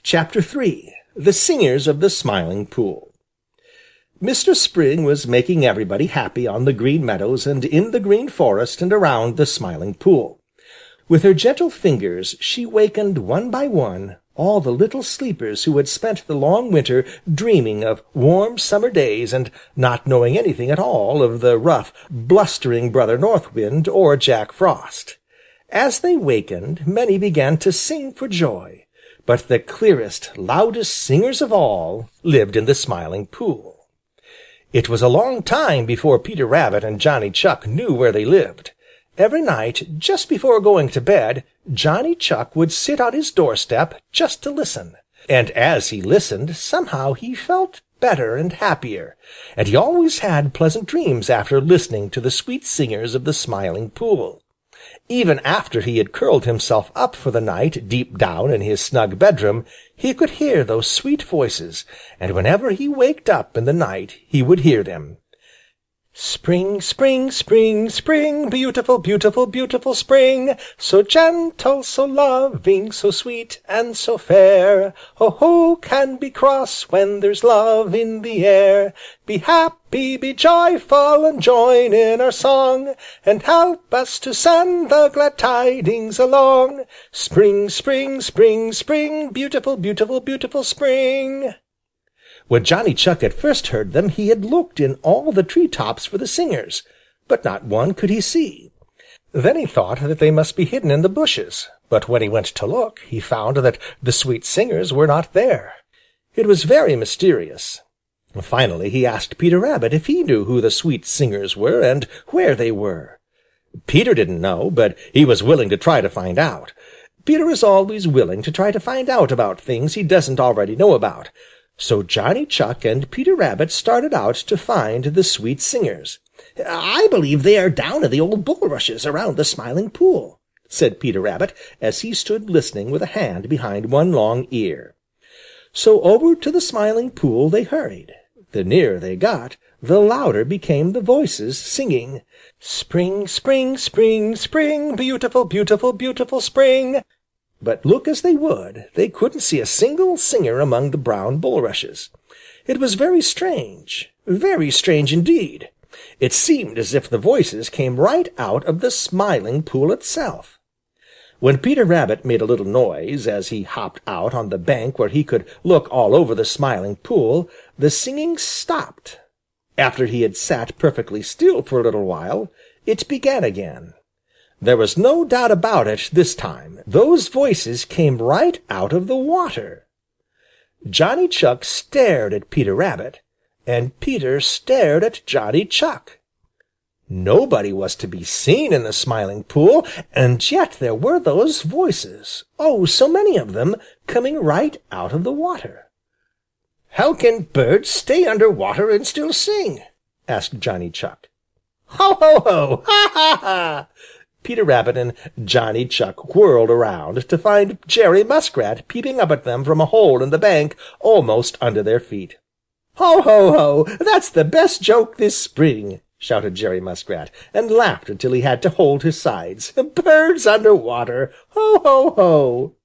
Chapter III. The Singers of the Smiling Pool. Mr. Spring was making everybody happy on the Green Meadows and in the Green Forest and around the Smiling Pool. With her gentle fingers she wakened one by one all the little sleepers who had spent the long winter dreaming of warm summer days and not knowing anything at all of the rough, blustering Brother North Wind or Jack Frost. As they wakened, many began to sing for joy, but the clearest, loudest singers of all lived in the Smiling Pool. It was a long time before Peter Rabbit and Johnny Chuck knew where they lived. Every night, just before going to bed, Johnny Chuck would sit on his doorstep just to listen. And as he listened, somehow he felt better and happier, and he always had pleasant dreams after listening to the sweet singers of the Smiling Pool. Even after he had curled himself up for the night deep down in his snug bedroom, he could hear those sweet voices, and whenever he waked up in the night he would hear them. Spring, spring, spring, spring, beautiful, beautiful, beautiful spring, so gentle, so loving, so sweet and so fair. Oh, who can be cross when there's love in the air? Be happy, be joyful, and join in our song, and help us to send the glad tidings along. Spring, spring, spring, spring, beautiful, beautiful, beautiful spring. When Johnny Chuck had first heard them, he had looked in all the tree tops for the singers, but not one could he see. Then he thought that they must be hidden in the bushes, but when he went to look, he found that the sweet singers were not there. It was very mysterious. Finally he asked Peter Rabbit if he knew who the sweet singers were and where they were. Peter didn't know, but he was willing to try to find out. Peter is always willing to try to find out about things he doesn't already know about. So Johnny Chuck and Peter Rabbit started out to find the sweet singers. "I believe they are down in the old bulrushes around the Smiling Pool," said Peter Rabbit, as he stood listening with a hand behind one long ear. So over to the Smiling Pool they hurried. The nearer they got, the louder became the voices singing, "Spring, spring, spring, spring, beautiful, beautiful, beautiful spring." But look as they would, they couldn't see a single singer among the brown bulrushes. It was very strange indeed. It seemed as if the voices came right out of the Smiling Pool itself. When Peter Rabbit made a little noise, as he hopped out on the bank where he could look all over the Smiling Pool, the singing stopped. After he had sat perfectly still for a little while, it began again. There was no doubt about it this time. Those voices came right out of the water. Johnny Chuck stared at Peter Rabbit, and Peter stared at Johnny Chuck. Nobody was to be seen in the Smiling Pool, and yet there were those voices, oh, so many of them, coming right out of the water. "How can birds stay under water and still sing?" asked Johnny Chuck. "Ho, ho, ho! Ha, ha, ha!" Peter Rabbit and Johnny Chuck whirled around to find Jerry Muskrat peeping up at them from a hole in the bank almost under their feet. "Ho, ho, ho! That's the best joke this spring!" shouted Jerry Muskrat, and laughed until he had to hold his sides. "Birds under water! Ho, ho, ho!"